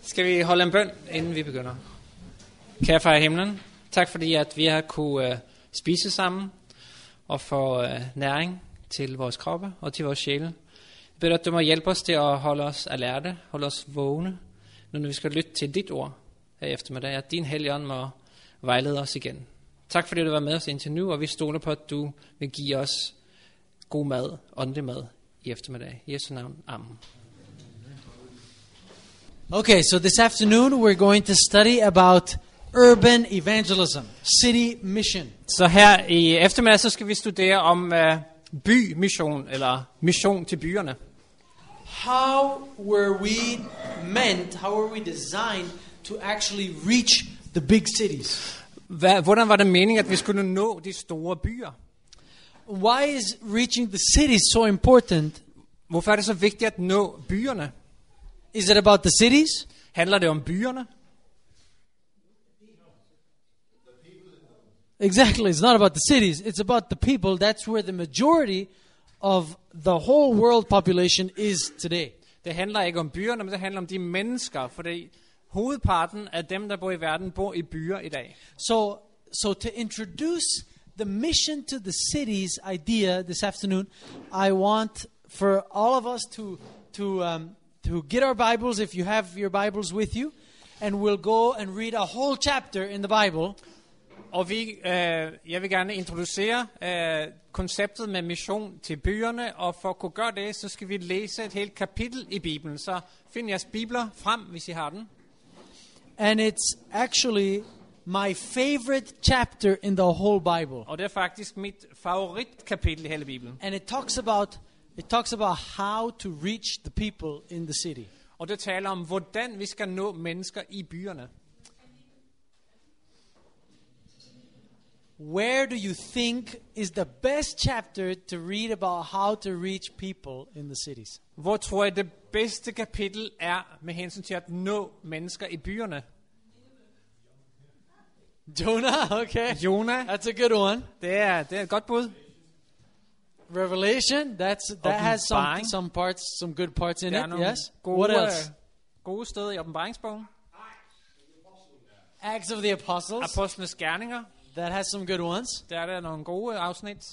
Skal vi holde en bøn, inden vi begynder? Kære far i himlen, tak fordi at vi har kunne spise sammen og få næring til vores kroppe og til vores sjæle. Jeg beder at du må hjælpe os til at holde os alerte, holde os vågne, når vi skal lytte til dit ord her eftermiddag, at din Helligånd må vejlede os igen. Tak fordi du var med os indtil nu, og vi stoler på, at du vil give os god mad, åndelig mad i eftermiddag. I Jesu navn. Amen. Okay, so this afternoon we're going to study about urban evangelism, city mission. Så her i eftermiddag så skal vi studere om bymission eller mission til byerne. How were we meant, how were we designed to actually reach the big cities? Hvordan var det meningen, at vi skulle nå de store byer? Why is reaching the cities so important? Hvorfor er det så vigtigt at nå byerne? Is it about the cities? Handler det om byerne? Exactly, it's not about the cities. It's about the people. That's where the majority of the whole world population is today. Det handler ikke om byerne, men det handler om de mennesker, fordi hovedparten af dem, der bor i verden, bor i byer i dag. So to introduce the mission to the cities idea this afternoon, I want for all of us to get our Bibles, if you have your Bibles with you, and we'll go and read a whole chapter in the Bible. Og jeg vil gerne introducere konceptet med mission til byerne, og for at kunne gøre det, så skal vi læse et helt kapitel i Bibelen. Så find jeres bibler frem, hvis I har den. And it's actually my favorite chapter in the whole Bible. Og det er faktisk mit favoritkapitel i hele Bibelen. And it talks about how to reach the people in the city. Og det taler om, hvordan vi skal nå mennesker i byerne. Where do you think is the best chapter to read about how to reach people in the cities? Hvor tror jeg det bedste kapitel er med hensyn til at nå mennesker i byerne? Jonah, okay. Jonah. That's a good one. Det er et godt bud. Revelation, that has some good parts in it. Yes. What else? Gode steder i åbenbaringsbogen. Acts of the Apostles. Apostlenes gerninger. That has some good ones. Der er nogle gode afsnit.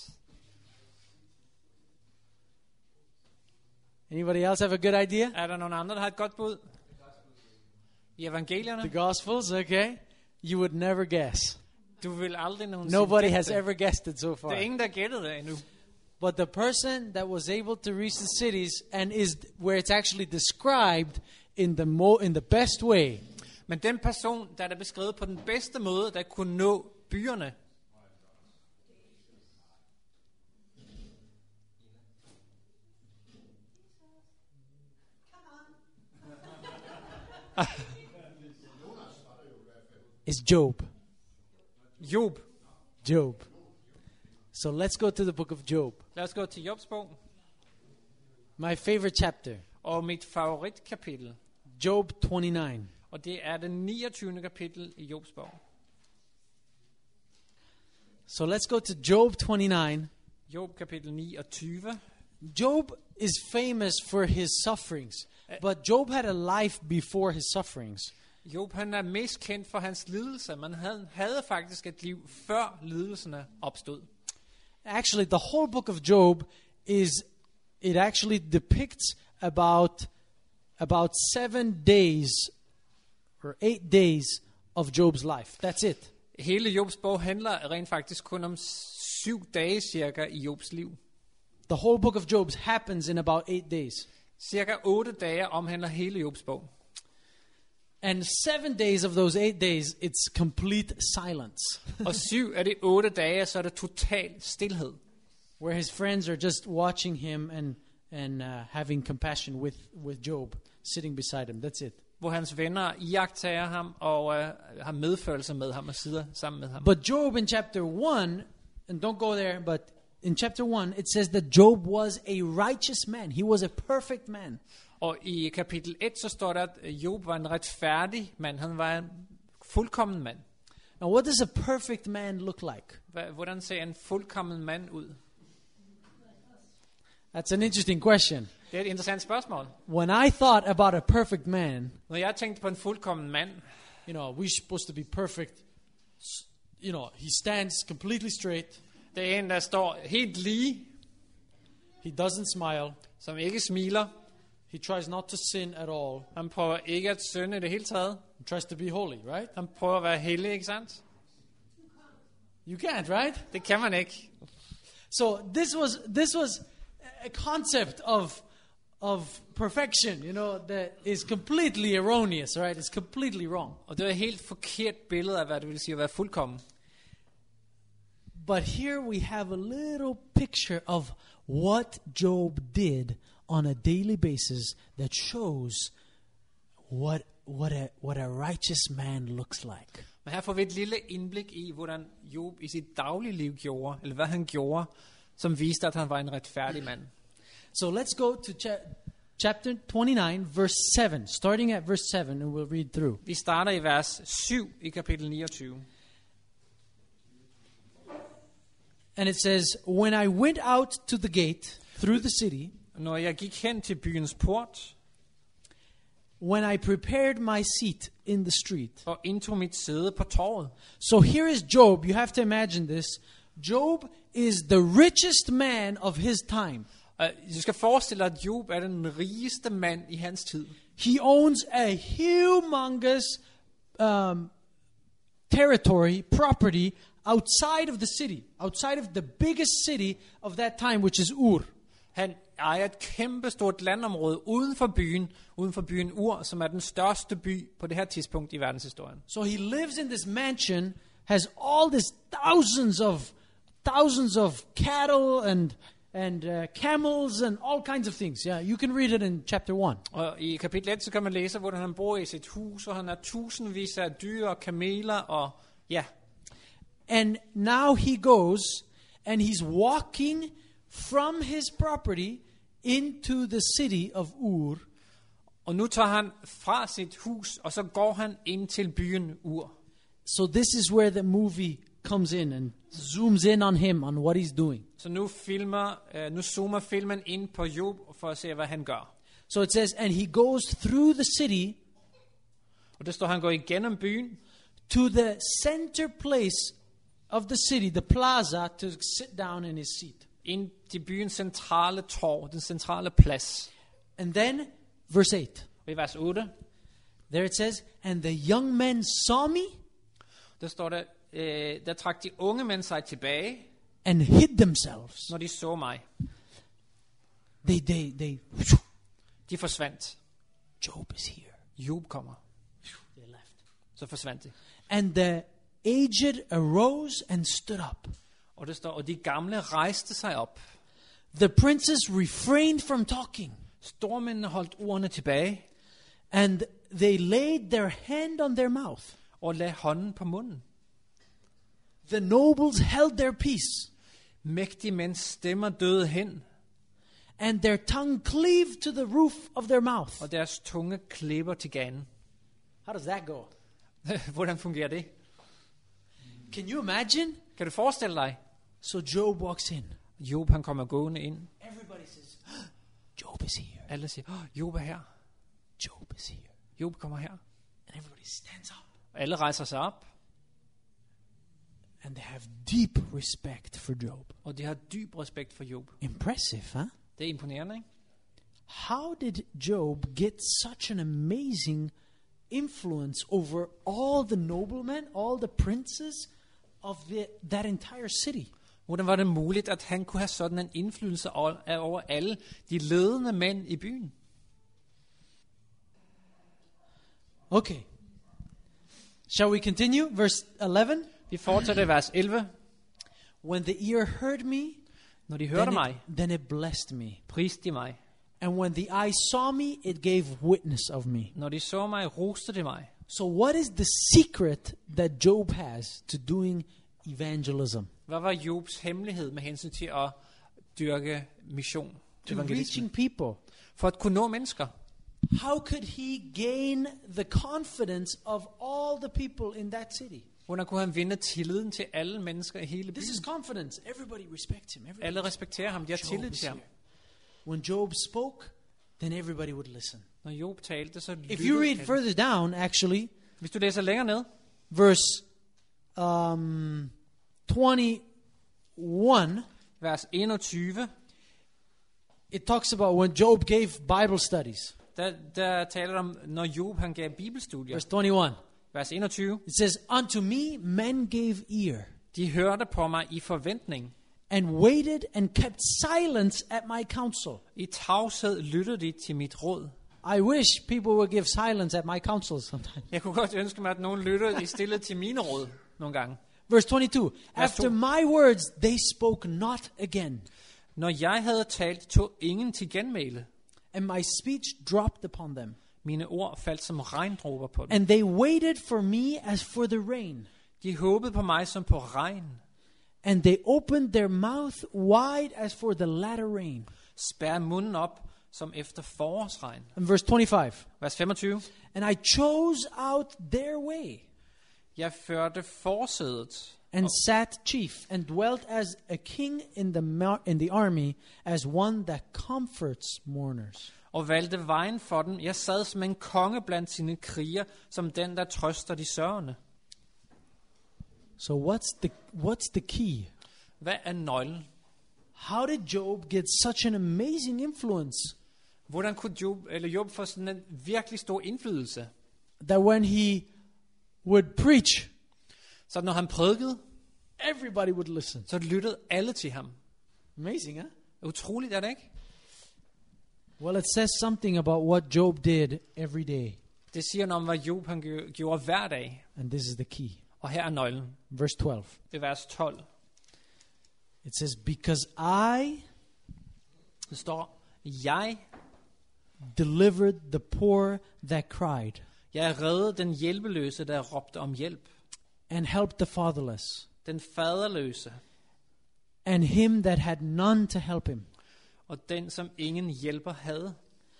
Anybody else have a good idea? Er der nogen andre, der har et godt bud? I evangelierne? The Gospels, okay. You would never guess. Du vil aldrig nogensinde Nobody gætte has det. ever guessed it so far. Der er ingen, der gættede det endnu. But the person that was able to reach the cities and is where it's actually described in the best way. Men den person, der er beskrevet på den bedste måde, der kunne nå byerne. Is Job. Job. So let's go to the book of Job. Lad os gå til Jobs bog. My favorite chapter. Og mit favoritkapitel. Job 29. Og det er det 29. kapitel i Jobs bog. So let's go to Job 29. Job kapitel 29. Job is famous for his sufferings, but Job had a life before his sufferings. Job han er mest kendt for hans lidelse, men han havde faktisk et liv før lidelserne opstod. Actually, the whole book of Job it actually depicts about 7 days or 8 days of Job's life. That's it. Hele Jobs bog handler rent faktisk kun om 7 dage cirka i Jobs liv. The whole book of Job happens in about 8 days. Cirka 8 dage omhandler hele Jobs bog. And 7 days of those 8 days, it's complete silence. Og 7 af de 8 dage, så er det total stilhed. Where his friends are just watching him and having compassion with Job, sitting beside him. That's it. Hvor hans venner iagttager ham og har medfølelse med ham og sidder sammen med ham. But Job in chapter 1, and don't go there, but in chapter 1, it says that Job was a righteous man. He was a perfect man. Og i kapitel 1, så står der, at Job var en retfærdig mand. Han var en fuldkommen mand. Now, what does a perfect man look like? Hvordan ser en fuldkommen mand ud? That's an interesting question. Det er et interessant spørgsmål. When I thought about a perfect man, Når jeg tænkte på en fuldkommen mand, we're supposed to be perfect. He stands completely straight. det er en, der står helt lige, He doesn't smile. som ikke smiler. He tries not to sin at all. Han prøver ikke at synde i det hele taget. He tries to be holy, right? Han prøver at være hellig, ikke sandt? You can't, right? Det kan man ikke. So this was a concept of perfection, that is completely erroneous, right? It's completely wrong. Og det er et helt forkert billede af, hvad det vil sige at være fuldkommen. But here we have a little picture of what Job did on a daily basis that shows what a righteous man looks like. Men her får vi et lille indblik i, hvordan Job i sit daglige liv gjorde, eller hvad han gjorde, som viste, at han var en retfærdig mand. So let's go to chapter 29, verse 7. Starting at verse 7, and we'll read through. Vi starter i vers 7 i kapitel 29. And it says, when I went out to the gate through the city, Når jeg gik hen til byens port when I prepared my seat in the street. og indtog mit sæde på torvet. So here is Job. You have to imagine this. Job is the richest man of his time. Du skal forestille dig, at Job er den rigeste mand i hans tid. He owns a humongous territory, property outside of the city, outside of the biggest city of that time, which is Ur. Han ejer et kæmpestort landområde uden for byen Ur, som er den største by på det her tidspunkt i verdenshistorien. So he lives in this mansion, has all this thousands of cattle and camels and all kinds of things. Yeah, you can read it in chapter 1. Og i kapitel 1, så kan man læse, hvordan han bor i sit hus, og han har tusindvis af dyr og kameler, og ja. And now he goes and he's walking from his property into the city of Ur. Og nu tager han fra sit hus, og så går han ind til byen Ur. So this is where the movie comes in and zooms in on him, on what he's doing. Så nu zoomer filmen ind på Job for at se, hvad han gør. So it says, and he goes through the city Og der står, han går igennem byen, to the center place of the city, the plaza, to sit down in his seat. ind til byens centrale torv, den centrale plads. And then, verse 8, Og i vers 8, there it says, and the young men saw me der står der trak de unge mænd sig tilbage, and hid themselves. når de så mig. They De forsvandt. Job is here. Job kommer. They left. Så forsvandt de. And the aged arose and stood up. Og der står, og de gamle rejste sig op. The princes refrained from talking, Stormændene holdt ordene tilbage, and they laid their hand on their mouth. og lagde hånden på munden. The nobles held their peace, Mægtige mænds stemmer døde hen, and their tongue cleaved to the roof of their mouth. og deres tunge klipper til ganen. How does that go? Hvordan fungerer det? Can you imagine? Kan du forestille dig? So Job walks in. Job, han kommer gående ind. Everybody says, Job is here. Alle siger, Job er her. Job is here. Job kommer her. And everybody stands up. Og alle rejser sig op, And they have deep respect for Job. og de har dyb respekt for Job. Impressive, huh? Det er imponerende, ikke? How did Job get such an amazing influence over all the noblemen, all the princes of that entire city? Hvordan var det muligt, at han kunne have sådan en indflydelse over alle de ledende mænd i byen? Okay. Shall we continue? Verse 11. Vi fortsætter i vers 11. When the ear heard me, Når de hørte mig, then it blessed me. priste de mig. And when the eye saw me, it gave witness of me. Når de så mig, roste de mig. So what is the secret that Job has to doing evangelism? Hvad var Jobs hemmelighed med hensyn til at dyrke mission? To Evangelisme? reaching people. For at kunne nå mennesker. How could he gain the confidence of all the people in that city? Hvordan kunne han vinde tilliden til alle mennesker i hele byen? This is confidence. Everybody respects him. Alle respekterer ham, de har Job tillid is til ham. here. When Job spoke, then everybody would listen. Når Job talte, så If lyttede you read alle. further down, actually, Hvis du læser længere ned, verse 21, vers 21, it talks about when Job gave Bible studies. der taler det om, når Job han gav bibelstudier. Verse 21. Vers 21. It says, "Unto me men gave ear, De hørte på mig i forventning. and waited and kept silence at my counsel." I tavshed lyttede de til mit råd. I wish people would give silence at my counsel sometimes. Jeg kunne godt ønske mig, at nogen lyttede i stille til mine råd nogle gange. Verse 22. Vers After 2. my words they spoke not again, Når jeg havde talt, tog ingen til genmæle. and my speech dropped upon them. Mine ord faldt som regndråber på dem. And they waited for me as for the rain, De håbede på mig som på regn. and they opened their mouth wide as for the latter rain. Spær munden op som efter forårsregn. And verse 25. Vers 25. And I chose out their way, Jeg førte forsædet and sat chief, and dwelt as a king in the army, as one that comforts mourners. og valgte vejen for dem. Jeg sad som en konge blandt sine kriger, som den, der trøster de sørgende. So what's the key? Hvad er nøglen? How did Job get such an amazing influence Hvordan kunne Job få sådan en virkelig stor indflydelse? that when he would preach, Så når han prædikede, everybody would listen? så lyttede alle til ham. Amazing, huh? Utroligt, er det ikke? Well, it says something about what Job did every day. Det siger noget om, hvad Job han gjorde hver dag. And this is the key. Og her er nøglen. Verse 12. Det er vers 12. It says, "Because I Det står, jeg delivered the poor that cried, reddede den hjælpeløse, der råbte om hjælp. and helped the fatherless, Den faderløse, and him that had none to help him. og den, som ingen hjælper havde.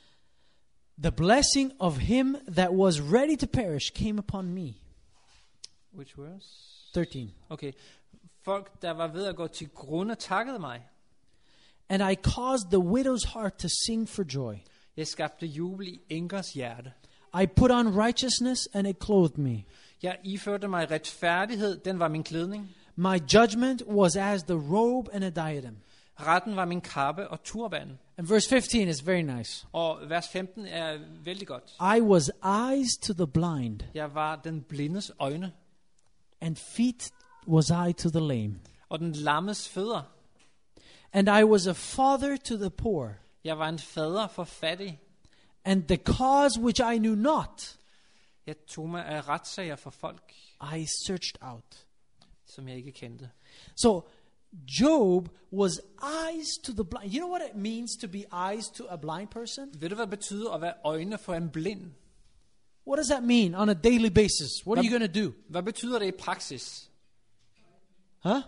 The blessing of him that was ready to perish came upon me." Which verse? 13. Okay. Folk, der var ved at gå til grunde, takkede mig. "And I caused the widow's heart to sing for joy. Jeg skabte jubel i enkers hjerte. I put on righteousness, and it clothed me. Jeg iførte mig retfærdighed, den var min klædning. My judgment was as the robe and a diadem." Retten var min kappe og turban. And verse 15 is very nice. Og vers 15 er vældig godt. "I was eyes to the blind, Jeg var den blindes øjne, and feet was I to the lame. og den lammes fødder. And I was a father to the poor, Jeg var en fader for fattig. and the cause which I knew not, Jeg tog mig af retssager for folk, I searched out." som jeg ikke kendte. So Job was eyes to the blind. You know what it means to be eyes to a blind person? Ved du, hvad det betyder at være øjne for en blind? What does that mean on a daily basis? What are you going to do? Hvad betyder det i praksis? Huh?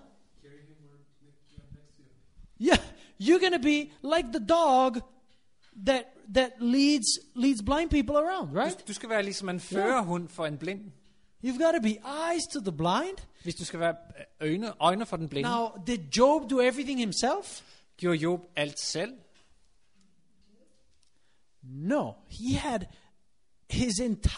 Yeah, you're going to be like the dog that leads blind people around, right? Du skal være ligesom en førerhund for en blind. You've got to be eyes to the blind. Hvis du skal være øjne for den blinde. Now, did Job do everything himself? Gjorde Job alt selv? No, he had his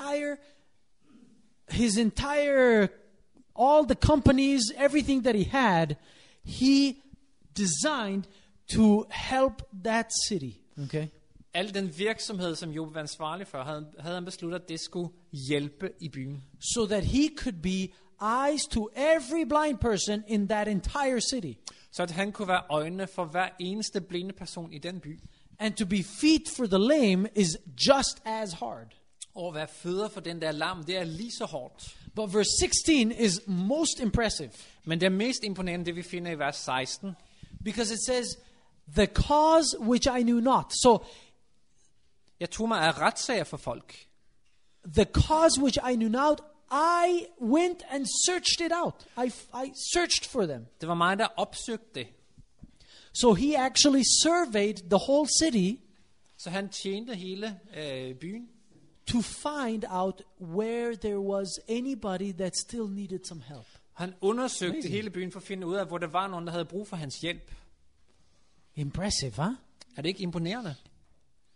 entire all the companies, everything that he had, he designed to help that city. Okay? Al den virksomhed, som Job var ansvarlig for, havde han besluttet, at det skulle hjælpe i byen. So that he could be eyes to every blind person in that entire city. Så at han kunne være øjnene for hver eneste blinde person i den by. And to be feet for the lame is just as hard. Og at være fødder for den der lam, det er lige så hårdt. But verse 16 is most impressive. Men det er mest imponerende, det vi finder i vers 16. Because it says, "The cause which I knew not." So, Jeg tog mig af retssager for folk. the cause which I knew not, I went and searched it out. I searched for them. Det var mig, der opsøgte det. So he actually surveyed the whole city Så han tjente hele byen to find out where there was anybody that still needed some help. Han undersøgte Amazing. hele byen for at finde ud af, hvor der var nogen, der havde brug for hans hjælp. Impressive, huh? Er det ikke imponerende?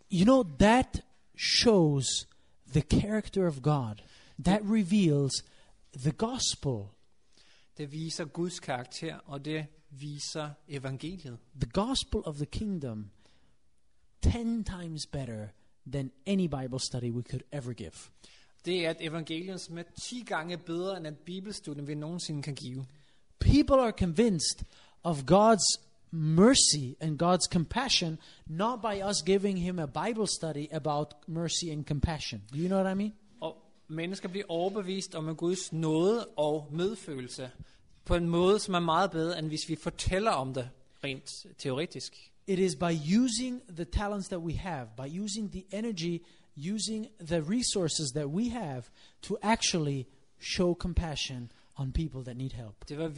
You know, that shows the character of God. That reveals the gospel. Det viser Guds karakter, og det viser evangeliet. The gospel of the kingdom 10 times better than any Bible study we could ever give. Det er et evangelium, som er 10 gange bedre end et bibelstudie, vi nogensinde kan give. People are convinced of God's mercy and God's compassion, not by us giving him a Bible study about mercy and compassion. Do you know what I mean? Og mennesker bliver overbevist om Guds nåde og medfølelse på en måde, som er meget bedre, end hvis vi fortæller om det rent teoretisk. It is by using the talents that we have, by using the energy, using the resources that we have to actually show compassion on people that need help. Det var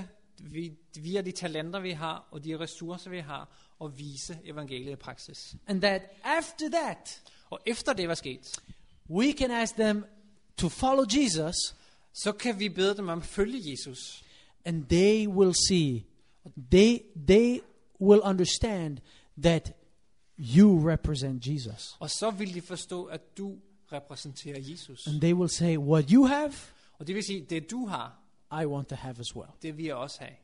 via de talenter, vi har, og de ressourcer, vi har, og vise evangeliet i praksis. And that after that, Og efter det var sket, we can ask them to follow Jesus, så kan vi bede dem om at følge Jesus. and they will see, they will understand that you represent Jesus. Og så vil de forstå, at du repræsenterer Jesus. And they will say, what you have, Og det vil sige, det du har, I want to have as well. det vil jeg også have.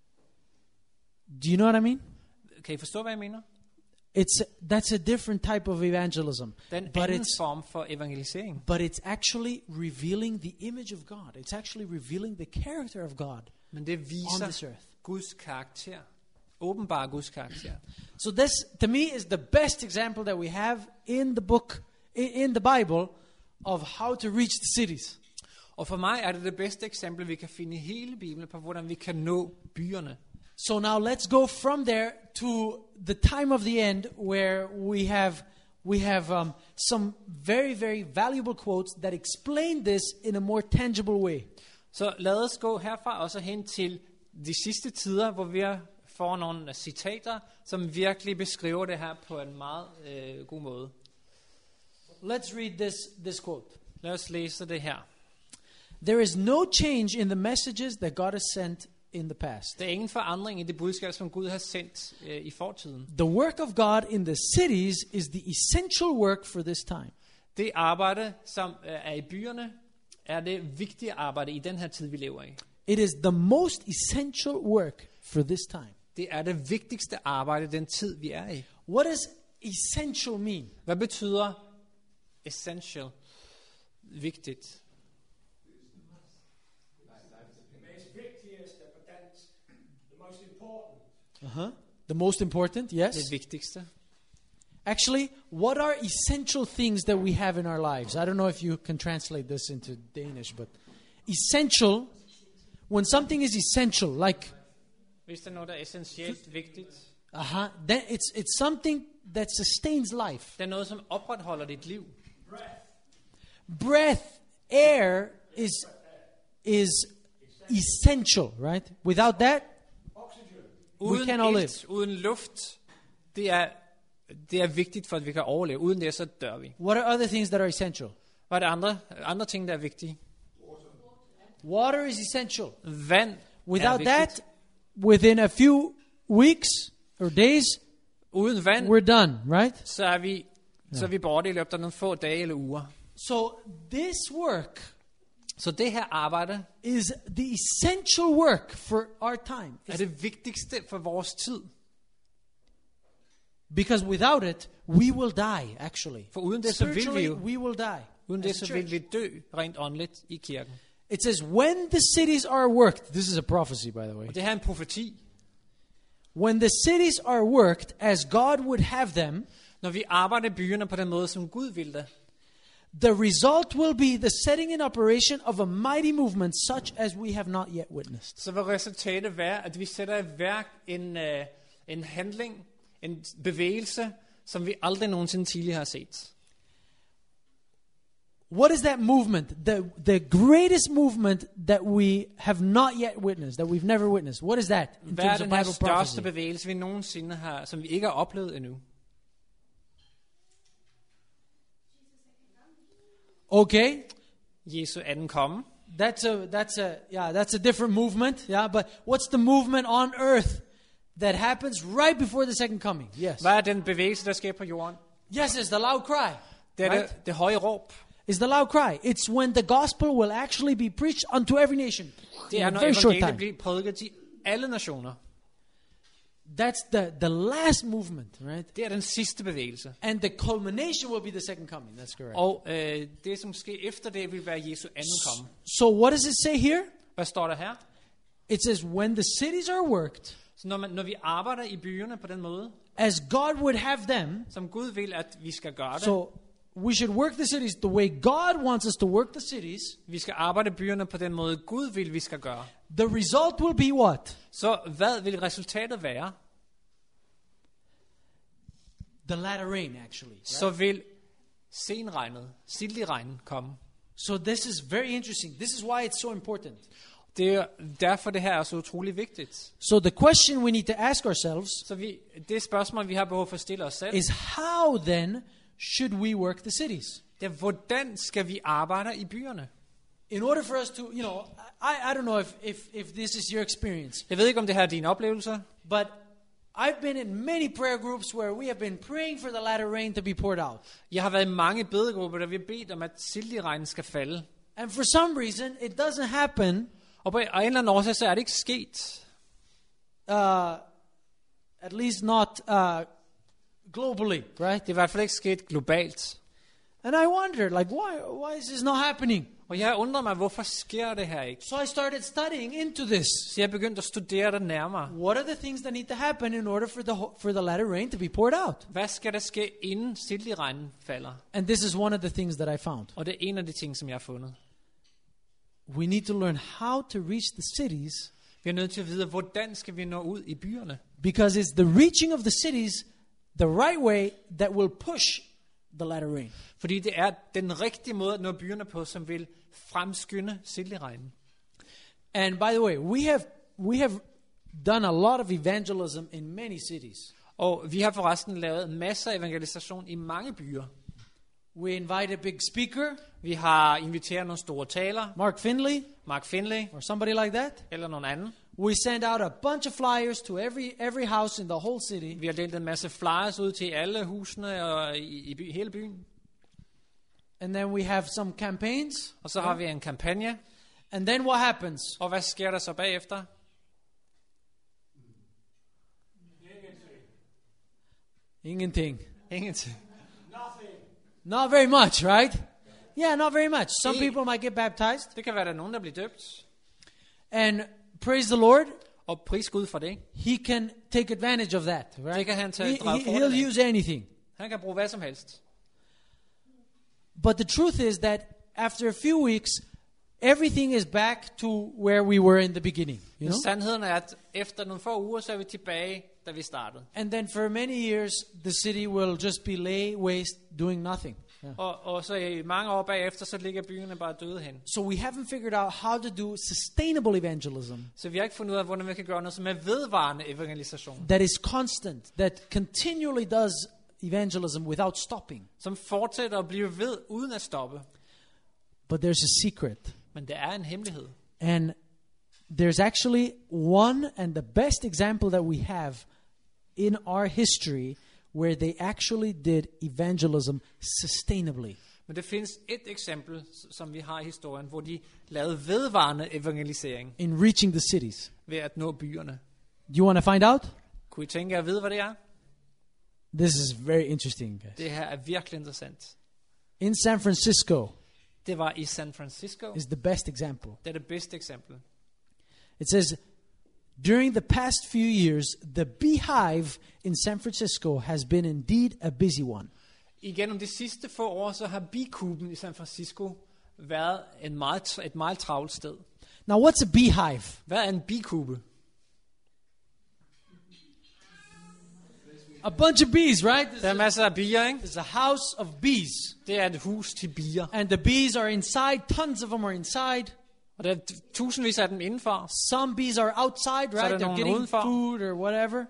Do you know what I mean? Kan I forstå, hvad jeg mener? That's a different type of evangelism. Det er en But anden it's form for evangelisering. But it's actually revealing the image of God. It's actually revealing the character of God Men det on viser this earth. Guds karakter. Åbenbar Guds karakter. So this, to me, is the best example that we have in the book, in the Bible, of how to reach the cities. Og for mig er det bedste eksempel, vi kan finde i hele Bibelen på, hvordan vi kan nå byerne. So now let's go from there to the time of the end, where we have some very, very valuable quotes that explain this in a more tangible way. Så lad os gå herfra og så hen til de sidste tider, hvor vi får nogle citater, som virkelig beskriver det her på en meget god måde. Let's read this quote. Lad os læse det her. There is no change in the messages that God has sent in the past. Der er ingen forandring i det budskab, som Gud har sendt i fortiden. The work of God in the cities is the essential work for this time. Det arbejde, som er i byerne, er det vigtige arbejde i den her tid, vi lever i. It is the most essential work for this time. Det er det vigtigste arbejde, den tid, vi er i. What does essential mean? Hvad betyder essential? Vigtigt. The most important, yes. Det vigtigste. Actually, what are essential things that we have in our lives? I don't know if you can translate this into Danish, but essential, when something is essential, like Hvis der er noget, der er essentielt vigtigt, then it's something that sustains life. det er noget, som opretholder dit liv. Breath, air is essential, right? Without that, Uden cannot live. ilt, uden luft, det er vigtigt for, at vi kan overleve. Uden det, så dør vi. what are other things that are essential? Hvad er det andre ting, der er vigtige? Water is essential. Vand Without er that, vigtigt. within a few weeks or days, Uden vand, we're done, right? så er vi borte i løbet af nogle få dage eller uger. So this work Så det her arbejde is the essential work for our time. er det vigtigste for vores tid. Because without it, we will die, actually. For uden det, så vil vi Spiritually, jo, we will die. uden as det, a så vil church. vi dø rent åndeligt i kirken. It says, when the cities are worked, this is a prophecy, by the way. Og det her er en profeti. When the cities are worked as God would have them, Når vi arbejder i byerne på den måde, som Gud vil det, the result will be the setting in operation of a mighty movement such as we have not yet witnessed. så vil resultatet være, at vi sætter i værk en handling, en bevægelse, som vi aldrig nogensinde tidligere har set. What is that movement? The greatest movement that we have not yet witnessed, that we've never witnessed. What is that in Hvad er terms of den her Bible største prophecy? bevægelse, vi nogensinde har, som vi ikke har oplevet endnu? Okay, Jesu anden komme. that's a different movement. Yeah, but what's the movement on earth that happens right before the second coming? Yes. Hvad er den bevægelse, der sker på jorden? Yes, it's the loud cry. Det er Right? det høje råb. It's the loud cry. It's when the gospel will actually be preached unto every nation Det in er, a når very short evangeliet time. bliver prædiket til alle nationer. That's the last movement, right? Det er den sidste bevægelse. And the culmination will be the second coming. That's correct. Og det, som sker efter det, vil være Jesu anden komme. So what does it say here? Hvad står der her? It says, when the cities are worked, Så når vi arbejder i byerne på den måde, as God would have them, som Gud vil, at vi skal gøre det. so we should work the cities the way God wants us to work the cities. Vi skal arbejde i byerne på den måde, Gud vil, vi skal gøre. The result will be what? Så hvad vil resultatet være? The latter rain, actually. Right? Så vil senregnet, silderegnen komme. So this is very interesting. This is why it's so important. Det er derfor, det her er så utrolig vigtigt. So the question we need to ask ourselves Så det spørgsmål, vi har behov for at stille os selv, is, how then should we work the cities? det er, hvordan skal vi arbejde i byerne? In order for us to, I don't know if this is your experience, Jeg ved ikke, om det her er din oplevelse, but I've been in many prayer groups where we have been praying for the latter rain to be poured out. jeg har været i mange bedegrupper, der vi har bedt om, at silderegnen skal falde. And for some reason, it doesn't happen, Og på en eller anden årsag, så er det ikke sket. at least not globally, right? Det er i hvert fald ikke sket globalt. And I wondered, like, why is this not happening? Og jeg undrer mig, hvorfor sker det her ikke? So I started studying into this. Så jeg begyndte at studere det nærmere. What are the things that need to happen in order for the latter rain to be poured out? Hvad skal der ske, inden silderegnen falder? And this is one of the things that I found. Og det er en af de ting, som jeg har fundet. We need to learn how to reach the cities, Vi er nødt til at vide, hvordan skal vi nå ud i byerne? because it's the reaching of the cities the right way that will push the latter rain. Fordi det er den rigtige måde at nå byerne på, som vil fremskynde silderegnen. And by the way, we have done a lot of evangelism in many cities. Og vi har forresten lavet masser af evangelisation i mange byer. We invite a big speaker, Vi har inviteret nogle store taler, Mark Finley, Mark Finley or somebody like that. eller nogen anden. We send out a bunch of flyers to every house in the whole city. Vi har delt en masse flyers ud til alle husene og i hele byen. And then we have some campaigns. Og så har vi en kampagne. And then what happens? Og hvad sker der så bagefter? Ingenting. Ingenting. Not very much, right? Yeah, not very much. Some I- people might get baptized. Det kan være, at der er nogen, der bliver døbt. And praise the Lord, Og pris Gud for det. he can take advantage of that, right? Det kan han tage drage fordel He'll af. use anything. Han kan bruge hvad som helst. But the truth is that after a few weeks, everything is back to where we were in the beginning, you Men know? sandheden er, at efter nogle få uger, så er vi tilbage, da vi startede. And then for many years, the city will just be lay waste, doing nothing. Yeah. Og så i mange år bagefter, så ligger byerne bare døde hen. So we haven't figured out how to do sustainable evangelism Så vi har ikke fundet ud af, hvordan vi kan gøre noget som er vedvarende evangelisation. that is constant, that continually does evangelism without stopping. Som fortsætter at blive ved, uden at stoppe. But there's a secret. Men det er en hemmelighed. And there's actually one and the best example that we have in our history where they actually did evangelism sustainably. Men det findes et eksempel, som vi har i historien, hvor de lavede vedvarende evangelisering In reaching the cities. ved at nå byerne. Do you want to find out? Kunne I tænke jer at vide, hvad det er? This is very interesting, guys. Det her er virkelig interessant. In San Francisco Det var i San Francisco. is the best example. Det er det bedste eksempel. It says, during the past few years, the beehive in San Francisco has been indeed a busy one. Igennem de sidste få år, så har bikuben i San Francisco været et meget travlt sted. Now, what's a beehive? Hvad er en bikube? A bunch of bees, right? Der er masser af bier, ikke? It's a house of bees. Det er et hus til bier. And the bees are inside. Tons of them are inside. Og der er tusindvis af dem indenfor. Some bees are outside, Så er right? der They're nogle getting udenfor. food or whatever.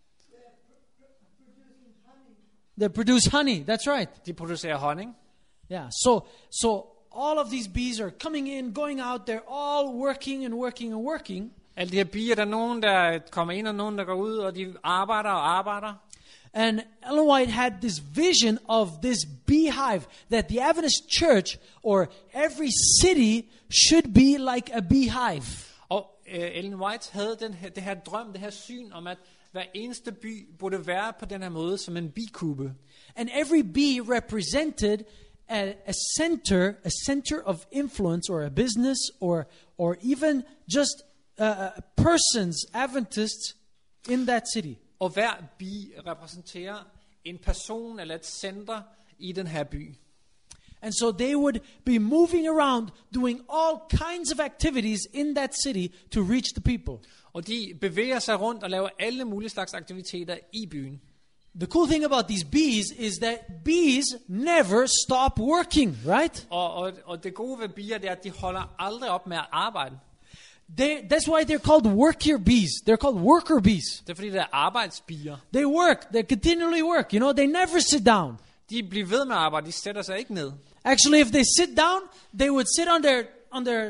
They produce honey. That's right. De producerer honning. Yeah. So all of these bees are coming in, going out. They're all working and working and working. Alle de her bier, der er nogen, der kommer ind, og nogen, der går ud, og de arbejder og arbejder. And Ellen White had this vision of this beehive, that the Adventist church or every city should be like a beehive. Og Ellen White havde det her drøm, det her syn om, at hver eneste by burde være på den her måde som en bikube. And every bee represented a center of influence, or a business, or even just persons, Adventists in that city. Og hver bi repræsenterer en person eller et center i den her by. And so they would be moving around, doing all kinds of activities in that city to reach the people. Og de bevæger sig rundt og laver alle mulige slags aktiviteter i byen. The cool thing about these bees is that bees never stop working, right? Og det gode ved bier, det er, at de holder aldrig op med at arbejde. That's why they're called worker bees. They're called worker bees. Det er fordi, det er arbejdsbier. They work. They continually work. You know, they never sit down. De bliver ved med at arbejde, de sætter sig ikke ned. Actually, if they sit down, they would sit on their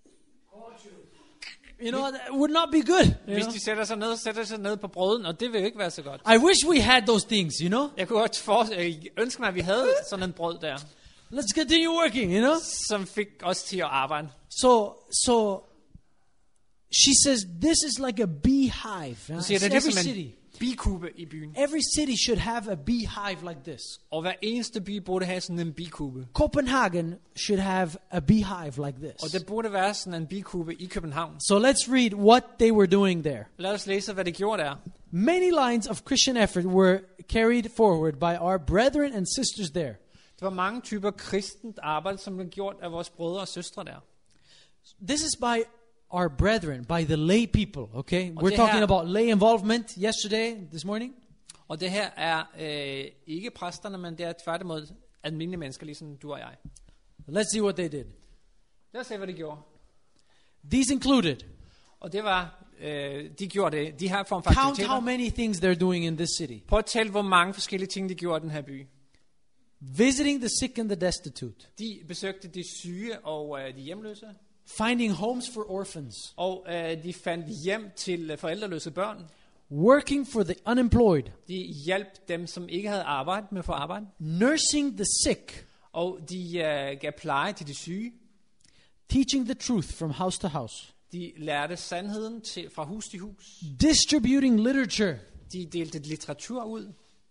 you know, that would not be good. Hvis de sætter sig ned på brøden, og det vil jo ikke være så godt. I wish we had those things, you know. Jeg kunne godt ønske mig, at vi havde sådan en brød der, Let's continue working, you know. som fik os til at arbejde. So she says this is like a beehive. Så siger det, Every ligesom city. en bikube i byen. Every city should have a beehive like this. Og hver eneste by burde have sådan en bikube. Copenhagen should have a beehive like this. Og det burde være sådan en bikube i København. So let's read what they were doing there. Lad os læse, hvad det gjorde der. Many lines of Christian effort were carried forward by our brethren and sisters there. Det var mange typer kristent arbejde, som blev gjort af vores brødre og søstre der. This is by our brethren, by the lay people, okay? Og We're det talking her- about lay involvement yesterday, this morning. Og det her er ikke præsterne, men det er tværtimod almindelige mennesker, ligesom du og jeg. Let's see what they did. Lad os se, hvad de gjorde. These included, Og det var, de gjorde det, de her form for count how aktiviteter. many things they're doing in this city. Prøv at tælle, hvor mange forskellige ting, de gjorde i den her by. Visiting the sick and the destitute. De besøgte de syge og de hjemløse. Finding homes for orphans. Og de fandt hjem til forældreløse børn. Working for the unemployed. De hjalp dem, som ikke havde arbejde med at få arbejde. Nursing the sick. Og de gav pleje til de syge. Teaching the truth from house to house. De lærte sandheden fra hus til hus. Distributing literature. De delte litteratur ud.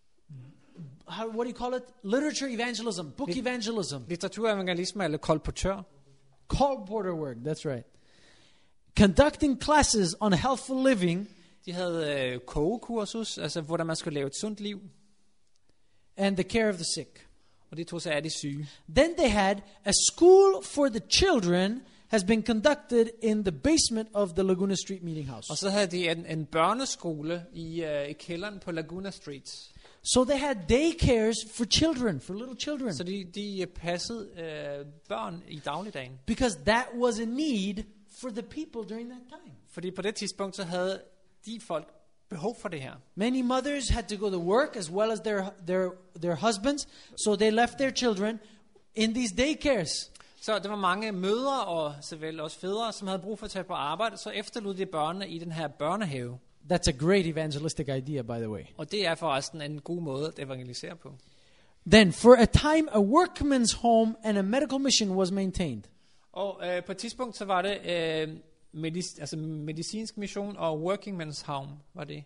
What do you call it? Literature evangelism, book evangelism. Litteraturevangelisme eller kolportør. Colporteur work, that's right. Conducting classes on healthful living. De havde kogekursus, altså hvordan man skulle leve et sundt liv. And the care of the sick. Og de tog sig af de syge. Then they had a school for the children has been conducted in the basement of the Laguna Street Meeting House. Og så havde de en børneskole i kælderen på Laguna Street. So they had daycares for children, for little children. Så de passede børn i dagligdagen. Because that was a need for the people during that time. Fordi på det tidspunkt, så havde de folk behov for det her. Many mothers had to go to work as well as their husbands, so they left their children in these daycares. Så der var mange mødre og såvel også fædre, som havde brug for at tage på arbejde, så efterlod de børnene i den her børnehave. That's a great evangelistic idea, by the way. Og det er forresten en god måde at evangelisere på. Then, for a time, a workman's home and a medical mission was maintained. Og på et tidspunkt, så var det medicinsk mission og working men's home, var det.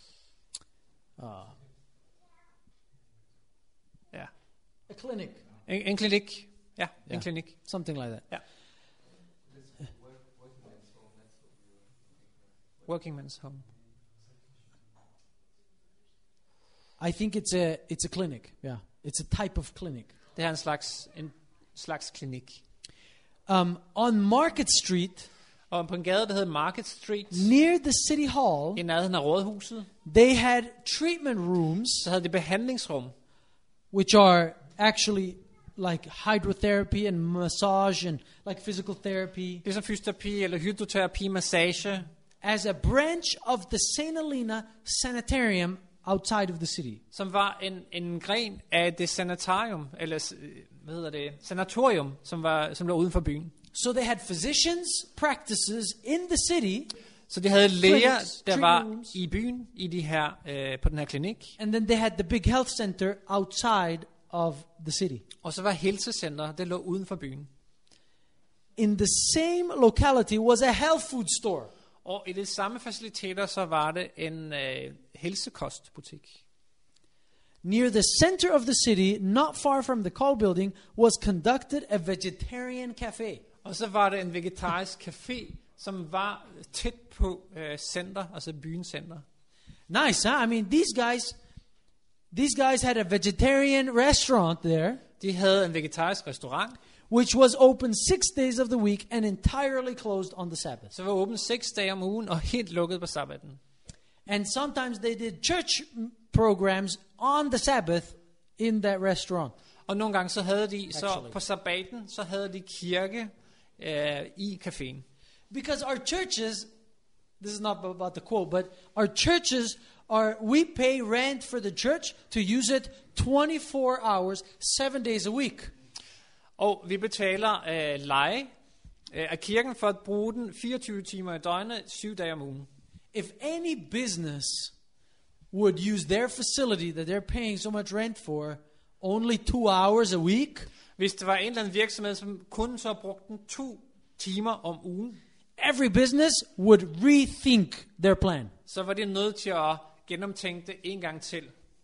Ja. A clinic. En klinik. Ja, en klinik. Something like that. Ja. Working men's home. I think it's a clinic. Yeah, it's a type of clinic. Det er en slags klinik. On Market Street, Og på en gade, der hedder Market Street, near the city hall, i nærheden af rådhuset, they had treatment rooms, så havde de behandlingsrum, which are actually like hydrotherapy and massage and like physical therapy, ligesom fysioterapi eller hydroterapi, massage, as a branch of the St. Helena Sanitarium outside of the city. som var en gren af det sanatorium, eller sanatorium, som lå uden for byen. So they had physicians' practices in the city, Så de havde læger, clinics, der treatment var rooms. i byen i de her, på den her klinik. And then they had the big health center outside of the city. Og så var helsecenter, det lå uden for byen. In the same locality was a health food store. Og i de samme faciliteter, så var det en helsekostbutik. Near the center of the city, not far from the call building, was conducted a vegetarian cafe. Og så var det en vegetarisk café, som var tæt på center, altså byens center. Nice, huh? I mean, these guys had a vegetarian restaurant there, De havde en vegetarisk restaurant, which was open 6 days of the week and entirely closed on the Sabbath. så var åbent 6 dage om ugen og helt lukket på sabbaten. And sometimes they did church programs on the Sabbath in that restaurant. Og nogle gange så havde de, så Actually. på sabbaten, så havde de kirke i caféen. Because our churches, this is not about the quote, but our churches we pay rent for the church to use it 24 hours, 7 days a week. Og vi betaler leje af kirken for at bruge den 24 timer i døgnet, 7 dage om ugen. If any business would use their facility that they're paying so much rent for only 2 hours a week, Hvis det var en eller anden virksomhed, som kun så brugte den 2 timer om ugen, every business would rethink their plan. så var de nødt til at gennemtænke det en gang til.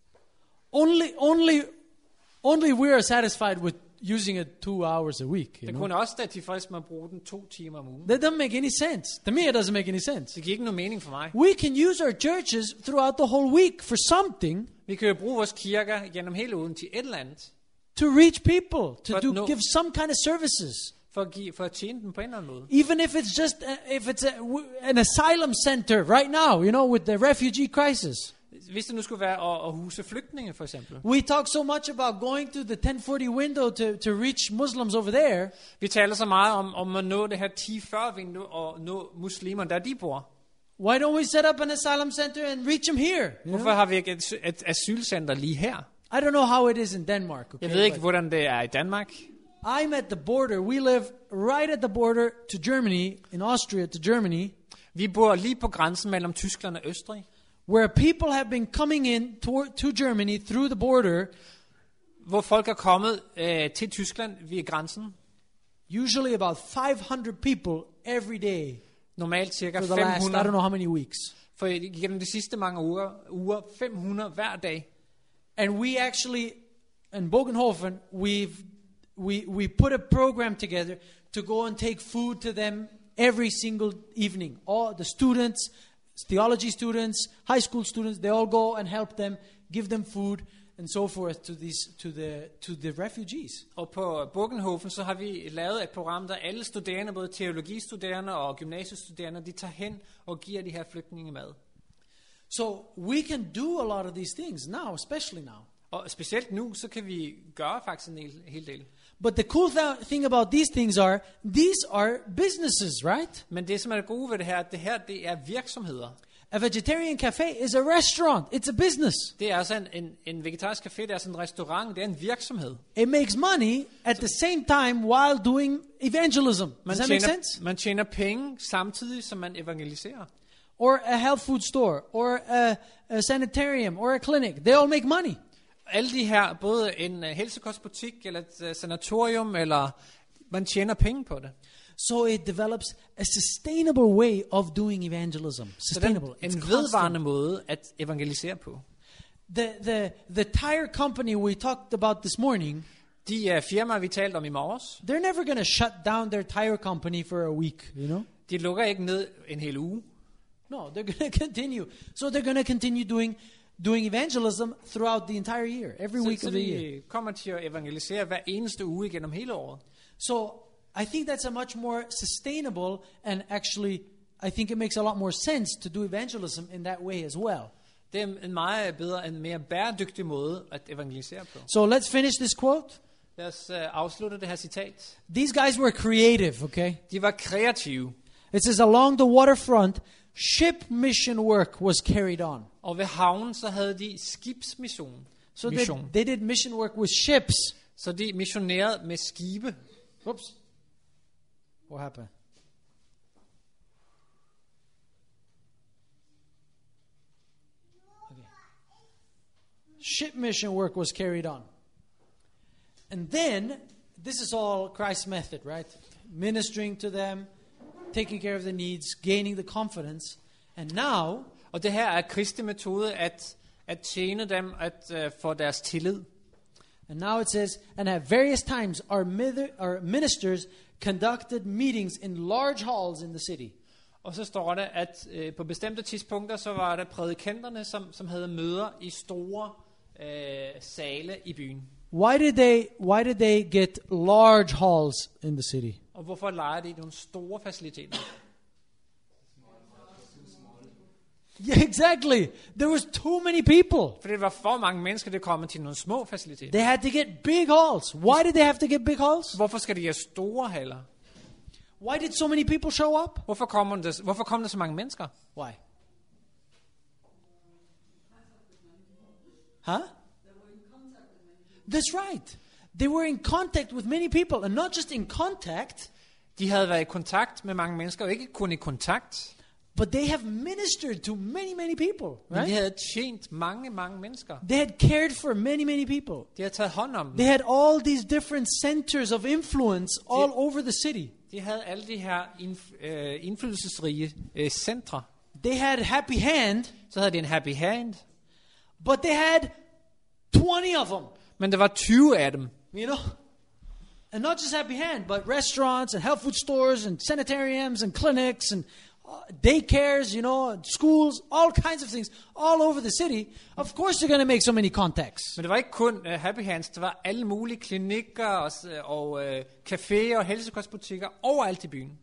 Only we are satisfied with using it 2 hours a week. You Det know? kunne også være tilfreds med at bruge den 2 timer om ugen. That doesn't make any sense. To me, it doesn't make any sense. Det giver ikke nogen mening for mig. We can use our churches throughout the whole week for something Vi kan jo bruge vores kirker gennem hele ugen til et eller andet, to reach people, to But no- give some kind of services. for at tjene dem på en eller anden måde. Even if it's just an asylum center right now, you know, with the refugee crisis. Hvis det nu skulle være at huse flygtninge, for eksempel. We talk so much about going through the 1040 window to reach Muslims over there. Vi taler så meget om at nå det her 10-40-vindue og nå muslimer, der de bor. Why don't we set up an asylum center and reach them here? You Hvorfor know? har vi ikke et asylcenter lige her? I don't know how it is in Denmark. Okay, Jeg ved ikke, but hvordan det er i Danmark. I'm at the border. We live right at the border to Germany, in Austria to Germany, Vi bor lige på grænsen mellem Tyskland og Østrig, where people have been coming in to Germany through the border, hvor folk er kommet til Tyskland via grænsen. usually about 500 people every day Normalt cirka for the last, I don't 500. know how many weeks. For gennem de sidste mange uger 500 hver dag. And we actually, in Bogenhofen, we put a program together to go and take food to them every single evening. All the students, theology students, high school students, they all go and help them, give them food and so forth to the refugees. Og på Bogenhofen, så har vi lavet et program, der alle studerende, både teologistuderende og gymnasiestuderende, de tager hen og giver de her flygtninge mad. So we can do a lot of these things now, especially now. Og specielt nu, så kan vi gøre faktisk en hel del. But the cool thing about these things these are businesses, right? Men det, som er det gode ved det her, det er virksomheder. A vegetarian cafe is a restaurant. It's a business. Det er altså en vegetarisk café, det er altså en restaurant, det er en virksomhed. It makes money at the same time while doing evangelism. Does that make sense? Man tjener penge samtidig, som man evangeliserer. Or a health food store, or a sanitarium, or a clinic. They all make money. Alle de her, både en helsekostbutik, eller et sanatorium, eller man tjener penge på det. So it develops a sustainable way of doing evangelism. Sustainable. Så It's en constant. vedvarende måde at evangelisere på. The tire company we talked about this morning, De firmaer, vi talte om i morges, they're never going to shut down their tire company for a week, you know? de lukker ikke ned en hel uge. No, they're going to continue. So they're going to continue doing evangelism throughout the entire year, every week Så of the year. de kommer til at evangelisere hver eneste uge gennem hele året. So I think that's a much more sustainable, and actually I think it makes a lot more sense to do evangelism in that way as well. Det er en meget bedre, en mere bæredygtig måde at evangelisere på. So let's finish this quote. Lad os afslutte det her citat. These guys were creative, okay? De var kreative, It says along the waterfront, ship mission work was carried on. og ved havnen så havde de skibsmission. So they did mission work with ships. Så de missionerede med skibe. Oops. What happened? ship mission work was carried on. And then, this is all Christ's method, right? Ministering to them, taking care of their needs, gaining the confidence. And now, Og det her er Kristi metode at tjene dem, at få deres tillid. and now it says, and at various times our ministers conducted meetings in large halls in the city. Og så står det, at på bestemte tidspunkter, så var der prædikanterne, som havde møder i store sale i byen. Why did they get large halls in the city? Og hvorfor lejer de nogle store faciliteter? Yeah, exactly. There was too many people. For det var for mange mennesker, der kom til nogle små faciliteter. They had to get big halls. Why did they have to get big halls? Hvorfor skal de have store haller? Why did so many people show up? Hvorfor kom der så mange mennesker? Why? Huh? That's right. They were in contact with many people, and not just in contact, De havde været i kontakt med mange mennesker, og ikke kun i kontakt, but they have ministered to many, many people, men de right? havde tjent mange mennesker. They had cared for many, many people. De havde taget hånd om dem. They had all these different centers of influence all over the city. De havde alle de her indflydelsesrige centre. They had Happy Hand, Så havde de en happy hand, but they had 20 of them, men der var 20 af dem. you know? And not just Happy Hand, but restaurants and health food stores and sanitariums and clinics and daycares, and schools, all kinds of things all over the city. Of course they're going to make so many contacts. Men det var ikke kun happy hands, der var alle mulige klinikker og caféer og helsekostbutikker overalt i byen.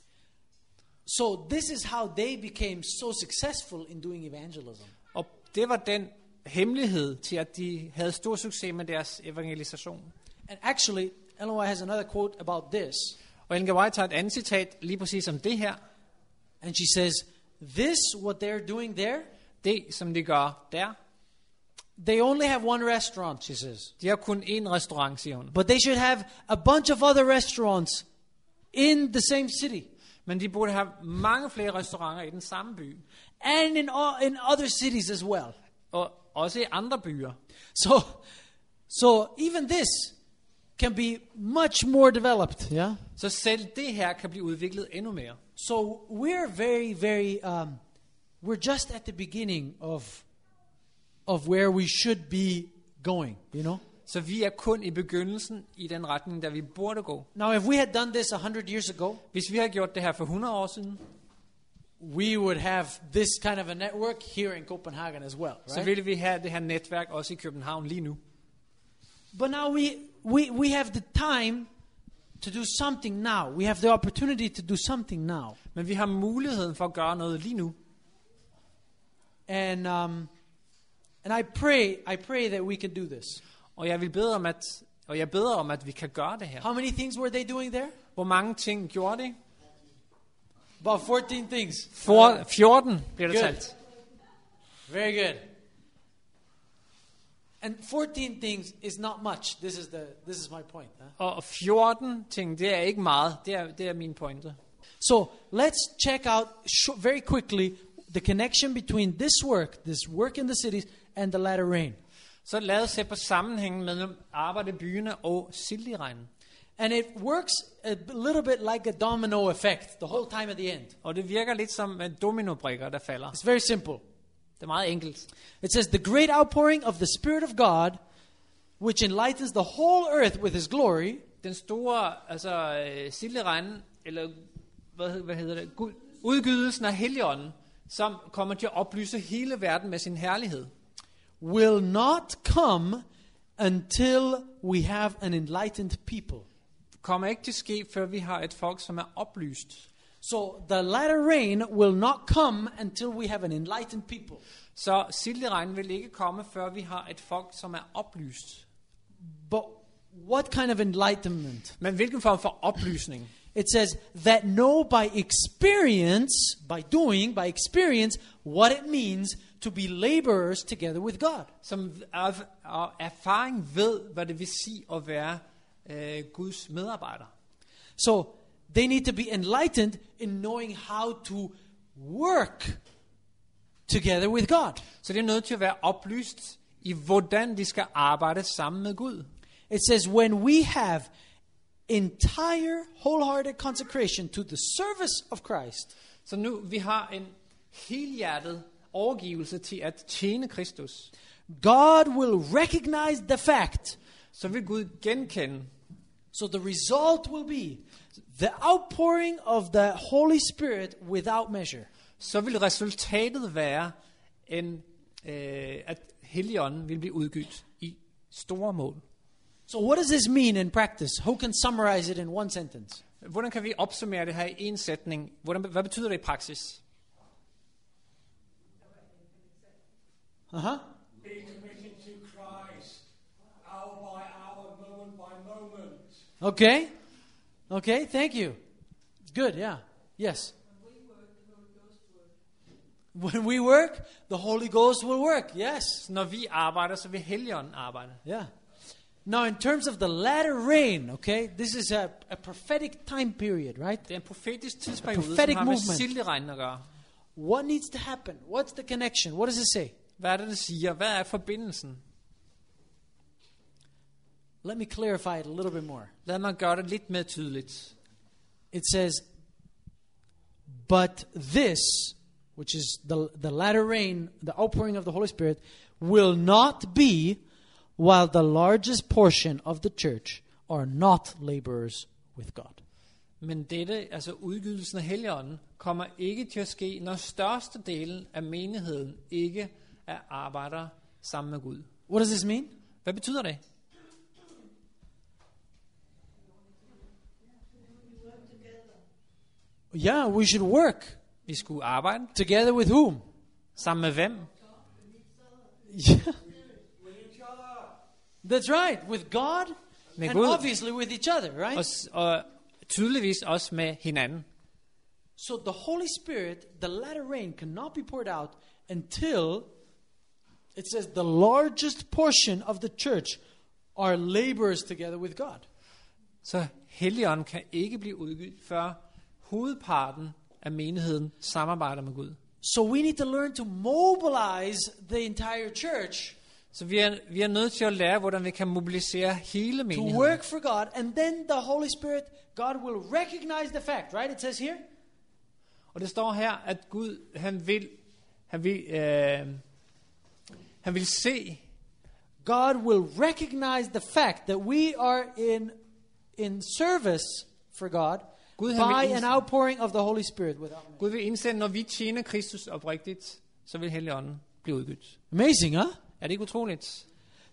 So this is how they became so successful in doing evangelism. Og det var den hemmelighed til, at de havde stor succes med deres evangelisation. And actually, Ellen White has another quote about this. Og Ellen White tager et andet citat lige præcis om det her. And she says, what they're doing there, Det, som de gør der, they only have one restaurant, she says. de har kun én restaurant, siger hun. But they should have a bunch of other restaurants in the same city. Men de burde have mange flere restauranter i den samme by. And in other cities as well. Og også i andre byer. So even this can be much more developed, yeah? Så selv det her kan blive udviklet endnu mere. So we're very, very, we're just at the beginning of where we should be going, Så vi er kun i begyndelsen i den retning, der vi burde gå. Now, if we had done this 100 years ago, Hvis vi har gjort det her for 100 år siden, we would have this kind of a network here in Copenhagen as well, så right? ville vi have det her netværk også i København lige nu. But now we have the time to do something now. We have the opportunity to do something now. Men vi har muligheden for at gøre noget lige nu. And I pray that we can do this. Og jeg beder om, at vi kan gøre det her. How many things were they doing there? Hvor mange ting gjorde de? About 14 things. 14 bliver der Good. talt. Very good. And 14 things is not much. This is my point. Og 14 ting, det er ikke meget. Det er min pointe. So let's check out very quickly the connection between this work in the cities, and the latter rain. Så lad os se på sammenhængen mellem arbejde i byerne og silderegnen. And it works a little bit like a domino effect the whole time at the end. Og det virker lidt som dominobrikker, der falder. It's very simple. Det er meget enkelt. It says, the great outpouring of the Spirit of God, which enlightens the whole earth with His glory. Den store, silderegnen, eller hvad hedder det? Udgydelsen af Helligånden, som kommer til at oplyse hele verden med sin herlighed, will not come until we have an enlightened people. kommer ikke til at ske, før vi har et folk, som er oplyst. So the latter rain will not come until we have an enlightened people. Så silderegnen vil ikke komme, før vi har et folk, som er oplyst. But what kind of enlightenment? Men hvilken form for oplysning? It says that know by experience what it means to be laborers together with God. Som af erfaring ved, hvad det vil sige at være Guds medarbejder. So they need to be enlightened in knowing how to work together with God. Så det er nødt til at være oplyst i hvordan de skal arbejde sammen med Gud. It says, when we have entire wholehearted consecration to the service of Christ, Så nu vi har en helhjertet overgivelse til at tjene Kristus, God will recognize the fact. så vil Gud genkende. So the result will be the outpouring of the Holy Spirit without measure. Så vil resultatet være, at Helligånden vil blive udgivet i store mål. So what does this mean in practice? Who can summarize it in one sentence? Hvordan kan vi opsummere det her i en sætning? Hvad betyder det i praksis? Be committed to Christ, hour by hour, moment by moment. Okay, thank you. Good, yeah. Yes. When we work, the Holy Ghost will work. Yes. Så når vi arbejder, så vil Helligånden arbejde. Yeah. Now, in terms of the latter rain, okay, this is a prophetic time period, right? Det er en profetisk tidsperiode, prophetic som har med movement. silderegnen at gøre. What needs to happen? What's the connection? What does it say? Hvad er det siger? Hvad er forbindelsen? Let me clarify it a little bit more. Lad mig gøre det lidt mere tydeligt. It says, but this, which is the latter rain, the outpouring of the Holy Spirit, will not be while the largest portion of the church are not laborers with God. Men dette, altså udgydelsen af Helligånden, kommer ikke til at ske, når størstedelen af menigheden ikke er arbejder sammen med Gud. What does this mean? Hvad betyder det? Yeah, we should work Vi skulle arbejde together with whom? sammen med hvem? Yeah. That's right, with God Med and Gud. obviously with each other, right? Og tydeligvis også med hinanden. So the Holy Spirit, the latter rain, cannot be poured out until it says the largest portion of the church are laborers together with God. Så Helligånden kan ikke blive udgivet, før hovedparten af menigheden samarbejder med Gud. So we need to learn to mobilize the entire church Så vi er nødt til at lære, hvordan vi kan mobilisere hele to menigheden. work for God, and then the Holy Spirit, God will recognize the fact, right? It says here. Og det står her, at Gud, han vil se, God will recognize the fact that we are in service for God Gud, han by vil an outpouring of the Holy Spirit without measure. Gud vil indsende, når vi tjener Kristus oprigtigt, så vil Helligånden blive udgivet. Amazing, huh? Er det ikke utroligt?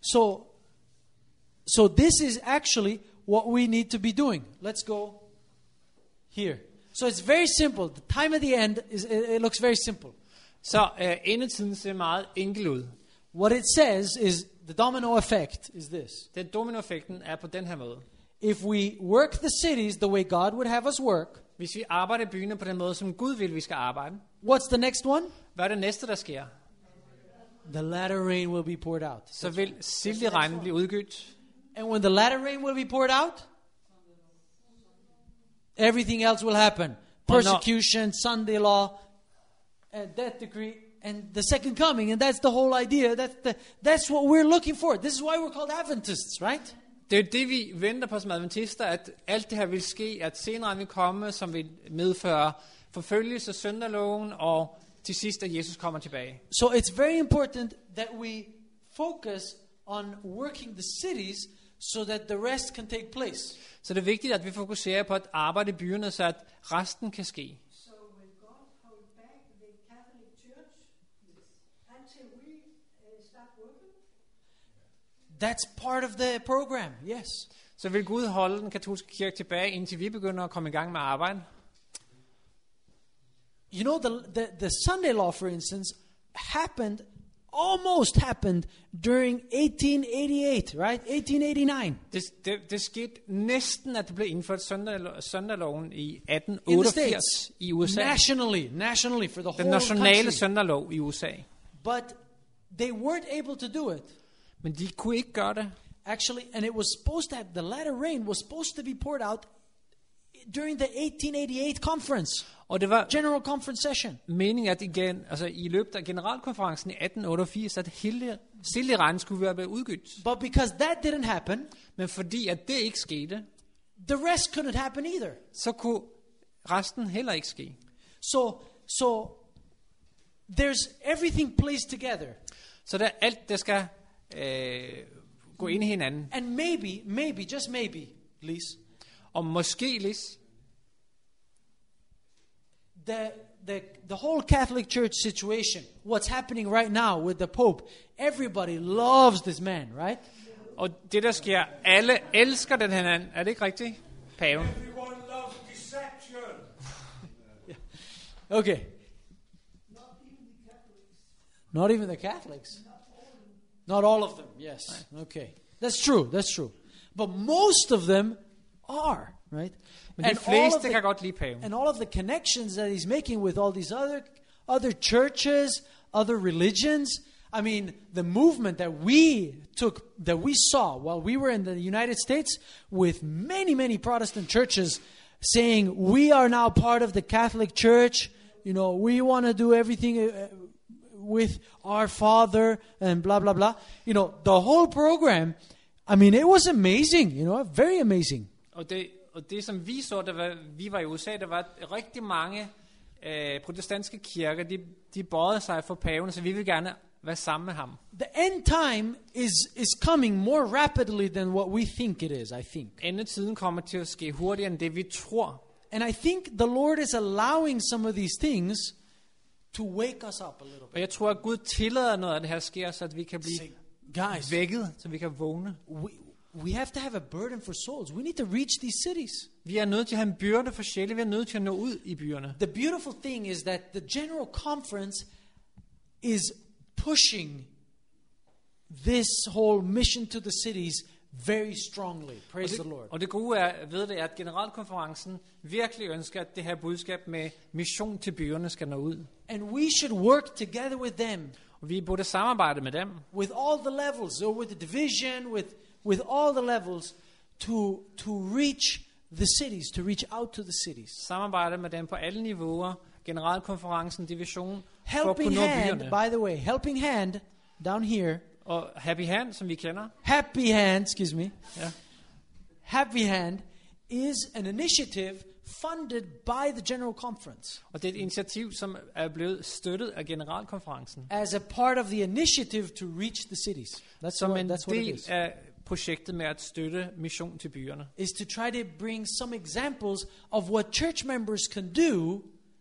So this is actually what we need to be doing. Let's go here. So it's very simple. The time at the end it looks very simple. Så endetiden ser meget enkel ud. What it says is the domino effect is this. Den dominoeffekten er på den her måde. If we work the cities the way God would have us work, Hvis vi arbejder i byerne på den måde, som Gud vil, vi skal arbejde, what's the next one? hvad er det næste, der sker? The latter rain will be poured out. Så vil silderegnen blive udgivet. And when the latter rain will be poured out, everything else will happen. Persecution, Sunday law, and death decree, and the second coming. And that's the whole idea. That's what we're looking for. This is why we're called Adventists, right? Det er jo det, vi venter på som adventister, at alt det her vil ske, at senere vil komme, som vil medføre forfølgelse, sønderloven, og til sidst, at Jesus kommer tilbage. So it's very important that we focus on working the cities so that the rest can take place. Så det er vigtigt, at vi fokuserer på at arbejde i byerne, så at resten kan ske. So will God hold back the Catholic Church until we start working? That's part of the program, yes. Så vil Gud holde den katolske kirke tilbage, indtil vi begynder at komme i gang med arbejde. You know, the Sunday law, for instance, almost happened during 1888, right? 1889. Det skete næsten, at det blev indført søndagsloven i In the 1888 States. i USA. Nationally for the Den whole nationale country. søndagslov i USA. But they weren't able to do it. Men de kunne ikke gøre det. Actually, and it was supposed to have, the latter rain was supposed to be poured out during the 1888 conference, Og det var General Conference session. meningen, at i løbet af generalkonferencen i 1888, at Sild i randen skulle være blevet udgydt. But because that didn't happen, Men fordi at det ikke skete, the rest couldn't happen either. så kunne resten heller ikke ske. So there's everything placed together. Så der er alt, der skal gå ind i hinanden. And maybe, just maybe, Lise, Og måske, Lis, the whole Catholic Church situation, what's happening right now with the Pope, everybody loves this man, right? og det der sker, alle elsker den her mand. Er det ikke rigtigt? Paven. Everyone loves deception. Okay. Not even the Catholics. Not all of them, yes. Okay. That's true. But most of them are, right? Men de fleste kan godt lide paven. And all of the connections that he's making with all these other churches, other religions. I mean, the movement that we saw while we were in the United States with many Protestant churches saying, we are now part of the Catholic Church. You know, we want to do everything with our Father and blah, blah, blah. You know, the whole program, I mean, it was amazing, you know, very amazing. Og det som vi så, vi var i USA, der var rigtig mange protestantiske kirker, de bøjede sig for paven, så vi vil gerne være sammen med ham. The end time is coming more rapidly than what we think it is, I think. Endetiden kommer til at ske hurtigere end det, vi tror. And I think the Lord is allowing some of these things to wake us up a little Og bit. jeg tror, at Gud tillader noget af det her sker, så at vi kan blive Guys, vækket, så vi kan vågne. we have to have a burden for souls. We need to reach these cities. Vi er nødt til at have en byrde for sjæle. Vi er nødt til at nå ud i byerne. The beautiful thing is that the General Conference is pushing this whole mission to the cities very strongly. Praise the Lord. Og det gode ved det er, at generalkonferencen virkelig ønsker, at det her budskab med mission til byerne skal nå ud. And we should work together with them, Og vi burde samarbejde med dem. with all the levels, so with the division, with all the levels, to reach the cities, to reach out to the cities. Samarbejde med dem på alle niveauer. Generalkonferencen, division, for at Helping kunne nå Hand, byerne. by the way, Helping Hand down here. Og Happy Hand, som vi kender. Happy Hand, excuse me. Ja. Happy Hand is an initiative funded by the General Conference Og det er et initiativ, som er blevet støttet af generalkonferencen. as a part of the initiative to reach the cities. Som en That's what it del is. af projektet med at støtte mission til byerne. Is to try to bring some examples of what church members can do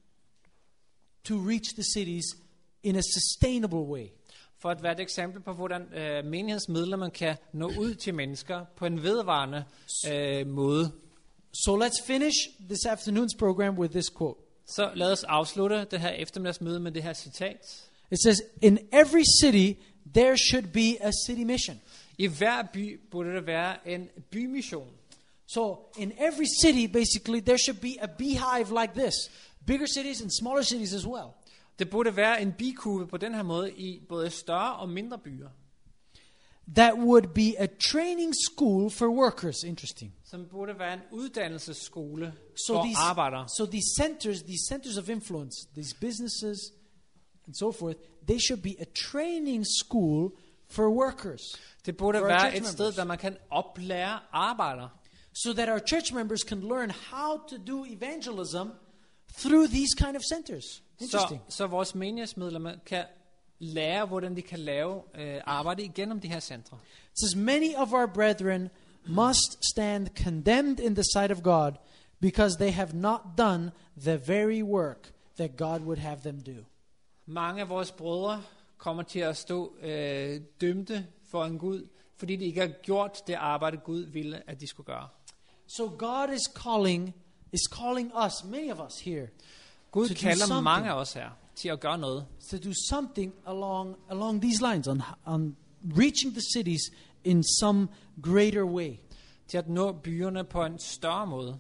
to reach the cities in a sustainable way. For at være et eksempel på, hvordan menighedsmedlemmer kan nå ud til mennesker på en vedvarende måde. So let's finish this afternoon's program with this quote. Så lad os afslutte det her eftermiddagsmøde med det her citat. It says, in every city there should be a city mission. I hver by burde der være en bymission. So in every city, basically, there should be a beehive like this. Bigger cities and smaller cities as well. Det burde være en bikube på den her måde i både større og mindre byer. That would be a training school for workers. Interesting. Som burde være en uddannelsesskole for arbejdere. So these centers of influence, these businesses and so forth, they should be a training school for workers. Det burde for være et sted, der man kan oplære arbejdere. So that our church members can learn how to do evangelism through these kind of centers. Interesting. Så vores menighedsmedlemmer kan lære, hvordan de kan lave arbejde igennem de her centre. It says, many of our brethren must stand condemned in the sight of God because they have not done the very work that God would have them do. Mange af vores brødre kommer til at stå dømte for en Gud, fordi de ikke har gjort det arbejde, Gud ville, at de skulle gøre. So God is calling us, many of us here, Gud to do kalder something. mange af os her til at gøre noget. to do something along these lines, on reaching the cities in some greater way. Til at nå byerne på en større måde.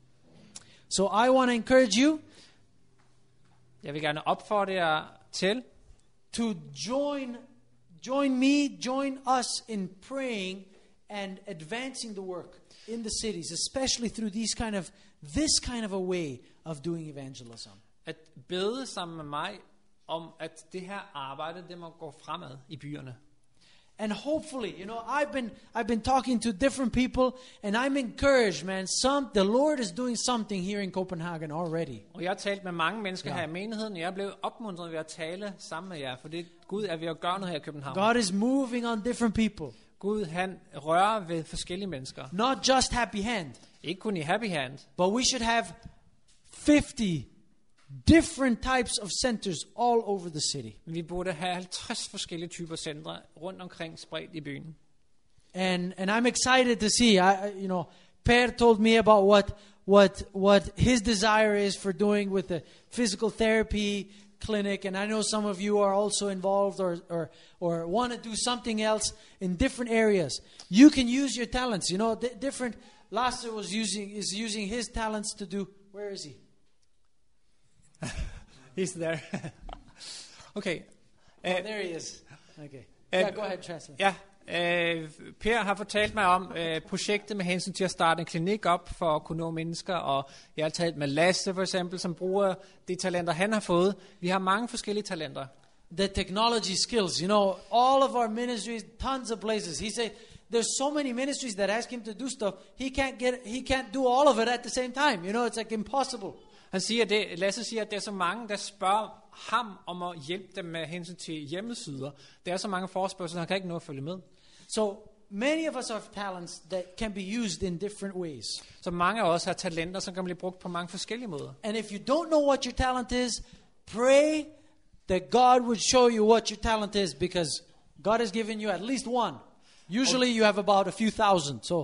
So I want to encourage you Jeg vil gerne opfordre jer til to join us in praying and advancing the work in the cities, especially through this kind of a way of doing evangelism. at bede sammen med mig om, at det her arbejde, det må gå fremad i byerne. And hopefully, I've been talking to different people, and I'm encouraged, man. The Lord is doing something here in Copenhagen already. Og jeg har talt med mange mennesker Ja. her i menigheden, og jeg er blevet opmuntret ved at tale sammen med jer, for det Gud er ved at gøre noget her i København. God is moving on different people, Gud, han rører ved forskellige mennesker. not just Happy Hand, Ikke kun i Happy Hand, but we should have 50 different types of centers all over the city. men vi burde have 50 forskellige typer centre rundt omkring spredt i byen. And I'm excited to see. Per told me about what his desire is for doing with the physical therapy clinic, and I know some of you are also involved or want to do something else in different areas. You can use your talents. Different. Lasse is using his talents to do. Where is he? He's there. Okay. There he is. Okay. Yeah, go ahead, translate. Ja, Per har fortalt mig om projektet med hensyn til at starte en klinik op for at kunne nå mennesker, og jeg har talt med Lasse for eksempel, som bruger de talenter, han har fået. Vi har mange forskellige talenter. The technology skills, all of our ministries, tons of places. He said there's so many ministries that ask him to do stuff. He can't do all of it at the same time. It's like impossible. Lasse siger, at det er så mange, der spørger ham om at hjælpe dem med hensyn til hjemmesider. Der er så mange forespørgsler, han kan ikke nå at følge med. So many of us have talents that can be used in different ways. Så mange af os har talenter, som kan blive brugt på mange forskellige måder. And if you don't know what your talent is, pray that God would show you what your talent is, because God has given you at least one. Usually you have about a few thousand. So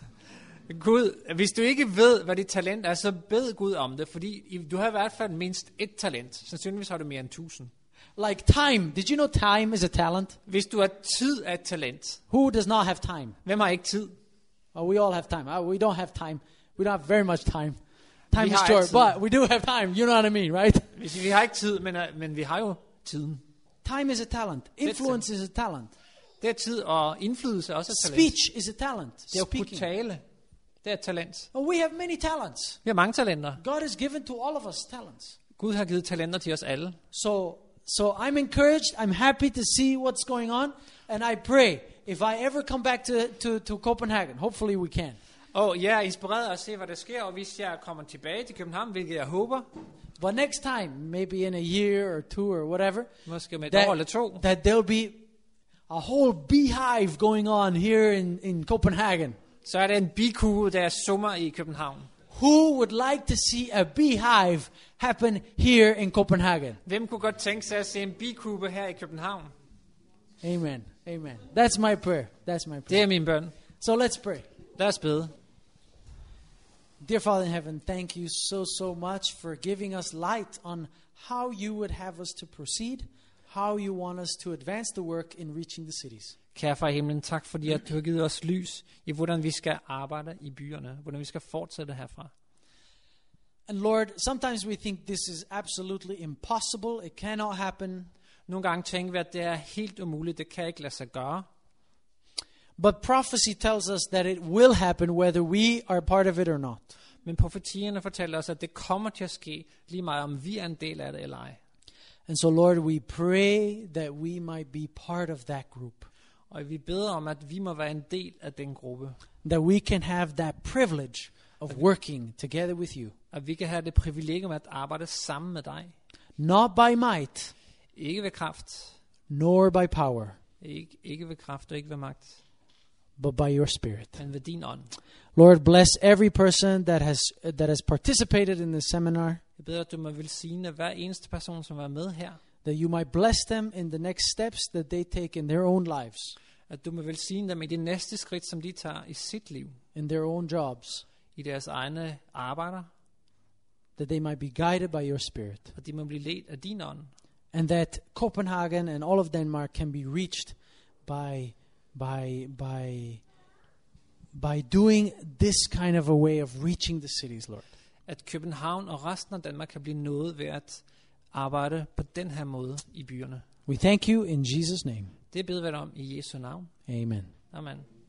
Gud, hvis du ikke ved, hvad dit talent er, så bed Gud om det, fordi du har i hvert fald mindst et talent. Sandsynligvis har du mere end 1000. like time. Did you know time is a talent? Hvis du har tid er et talent. Who does not have time? Hvem har ikke tid? Oh, we all have time. We don't have time. We don't have very much time. Time Vi is har short, altid. but we do have time. You know what I mean, right? Vi har ikke tid, men vi har jo tiden. Time is a talent. Influence is a talent. Det er tid, og indflydelse er også et talent. Speech is a talent. Det er at kunne Speaking. tale. Det er et talent. Oh, we have many talents. Vi har mange talenter. God has given to all of us talents. Gud har givet talenter til os alle. So I'm encouraged. I'm happy to see what's going on, and I pray if I ever come back to Copenhagen, hopefully we can. Og jeg er inspireret af at se, hvad der sker, og hvis jeg kommer tilbage til København, hvilket jeg håber, But next time, maybe in a year or two or whatever, måske med et år eller to, that there'll be a whole beehive going on here in Copenhagen. så er der en bikue, der summer i København. Who would like to see a beehive happen here in Copenhagen? Hvem kunne godt tænke sig at se en bikube her i København? Amen. Amen. That's my prayer. That's my Det prayer. er min bøn. So let's pray. Lad os bede. Dear Father in heaven, thank you so much for giving us light on how you would have us to proceed, how you want us to advance the work in reaching the cities. Kære far i himlen, tak fordi at du har givet os lys i, hvordan vi skal arbejde i byerne, hvordan vi skal fortsætte herfra. And Lord, sometimes we think this is absolutely impossible. It cannot happen. Nogle gange tænker vi, at det er helt umuligt, det kan ikke lade sig gøre. But prophecy tells us that it will happen whether we are part of it or not. Men profetierne fortæller os, at det kommer til at ske, lige meget om vi er en del af det eller ej. And so Lord, we pray that we might be part of that group. Og vi beder om, at vi må være en del af den gruppe. That we can have that privilege of working together with you. At vi kan have det privilegium at arbejde sammen med dig. Not by might, Ikke ved kraft. nor by power, Ikke ved kraft og ikke ved magt. but by your Spirit. Men ved din ånd. Lord, bless every person that has participated in this seminar. Jeg beder, at du må velsigne hver eneste person, som er med her. That you might bless them in the next steps that they take in their own lives, At du må velsigne dem i det næste skridt, som de tager i sit liv. in their own jobs. I deres egne arbejder. That they might be guided by your Spirit. Og de må blive ledt af din ånd. And that Copenhagen and all of Denmark can be reached by doing this kind of a way of reaching the cities, Lord. At København og resten af Danmark kan blive nået ved at arbejde på den her måde i byerne. We thank you in Jesus' name. Det beder vi dig om i Jesu navn. Amen. Amen.